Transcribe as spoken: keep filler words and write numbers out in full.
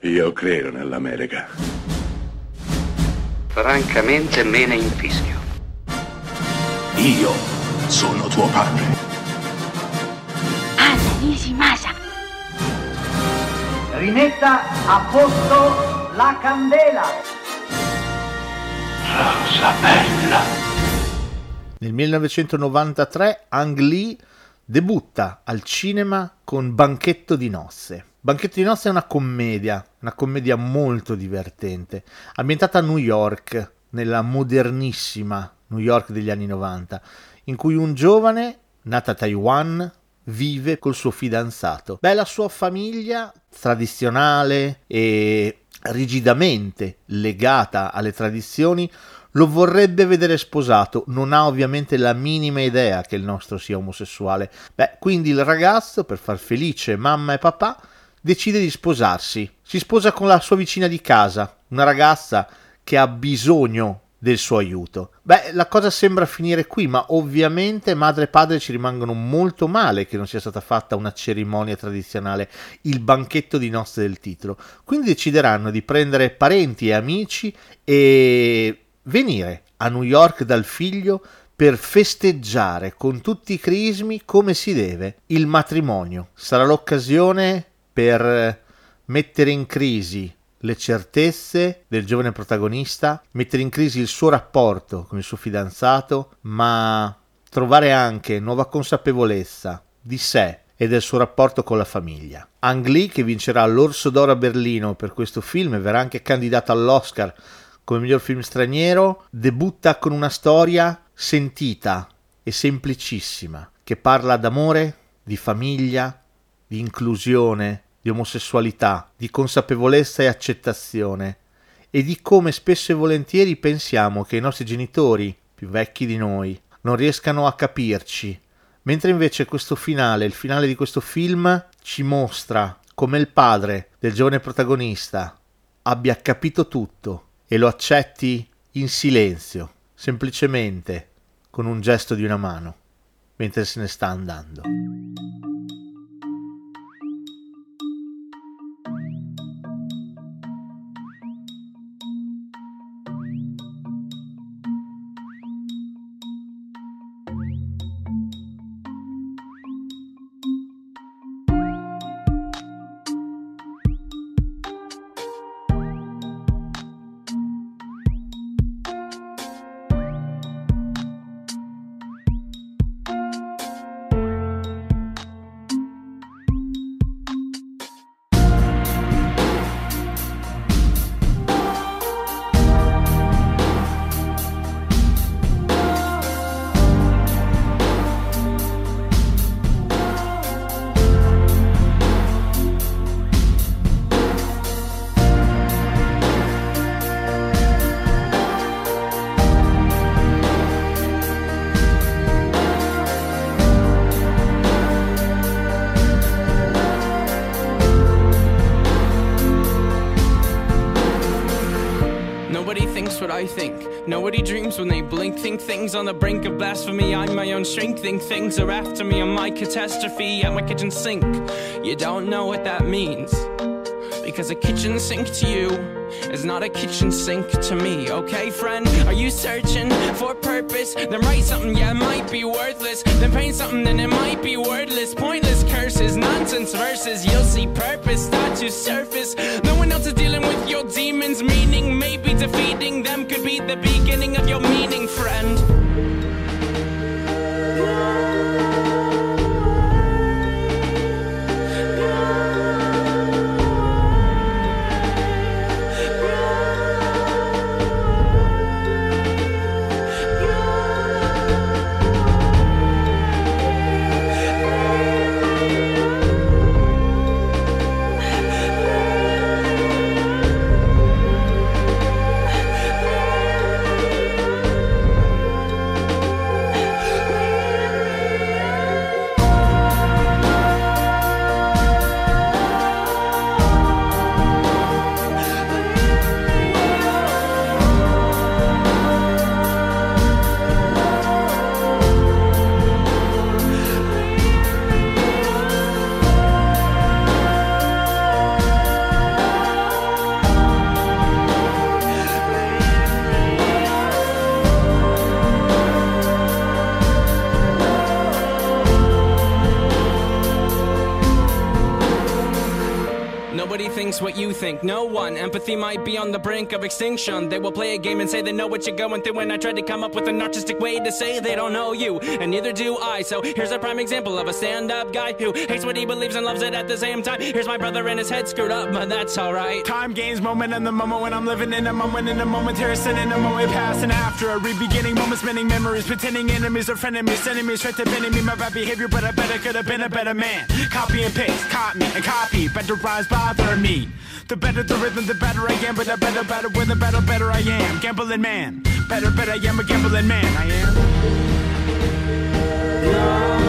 Io credo nell'America. Francamente me ne infischio. Io sono tuo padre. Anna Nishimasa. Rimetta a posto la candela. Rosa bella. Nel millenovecentonovantatré Ang Lee debutta al cinema con Banchetto di nozze. Banchetto di nozze è una commedia, una commedia molto divertente, ambientata a New York, nella modernissima New York degli anni novanta, in cui un giovane, nato a Taiwan, vive col suo fidanzato. Beh, la sua famiglia, tradizionale e rigidamente legata alle tradizioni, lo vorrebbe vedere sposato, non ha ovviamente la minima idea che il nostro sia omosessuale. Beh, quindi il ragazzo, per far felice mamma e papà, decide di sposarsi. Si sposa con la sua vicina di casa, una ragazza che ha bisogno del suo aiuto. Beh, la cosa sembra finire qui, ma ovviamente madre e padre ci rimangono molto male che non sia stata fatta una cerimonia tradizionale, il banchetto di nozze del titolo. Quindi decideranno di prendere parenti e amici e venire a New York dal figlio per festeggiare con tutti i crismi come si deve il matrimonio. Sarà l'occasione per mettere in crisi le certezze del giovane protagonista, mettere in crisi il suo rapporto con il suo fidanzato, ma trovare anche nuova consapevolezza di sé e del suo rapporto con la famiglia. Ang Lee, che vincerà l'Orso d'Oro a Berlino per questo film e verrà anche candidato all'Oscar come miglior film straniero, debutta con una storia sentita e semplicissima, che parla d'amore, di famiglia, di inclusione, di omosessualità, di consapevolezza e accettazione, e di come spesso e volentieri pensiamo che i nostri genitori, più vecchi di noi, non riescano a capirci, mentre invece questo finale, il finale di questo film, ci mostra come il padre del giovane protagonista abbia capito tutto e lo accetti in silenzio, semplicemente con un gesto di una mano, mentre se ne sta andando. Nobody thinks what I think. Nobody dreams when they blink. Think things on the brink of blasphemy. I'm my own strength. Think things are after me. I'm my catastrophe at my kitchen sink. You don't know what that means, because a kitchen sink to you is not a kitchen sink to me. Okay, friend? Are you searching for purpose? Then write something, yeah, it might be worthless. Then paint something, then it might be wordless. Pointless curses, nonsense verses. You'll see purpose start to surface. No one else is dealing with your demons. Meaning maybe defeating them could be the beginning of your meaning, friend. Nobody thinks what you think, no one. Empathy might be on the brink of extinction. They will play a game and say they know what you're going through, and I tried to come up with an artistic way to say they don't know you, and neither do I. So here's a prime example of a stand-up guy who hates what he believes and loves it at the same time. Here's my brother and his head screwed up, but that's alright. Time gains moment in the moment when I'm living in a moment, in a momentary sin, in a moment past and after a re-beginning moment, spinning memories, pretending enemies are frenemies, sending me straight to bending me my bad behavior, but I better could have been a better man. Copy and paste, caught me and copy, better rhymes bother me. The better the rhythm, the better I am, but the better, better with the better, better I am. Gambling man, better, better I am a gambling man. I am.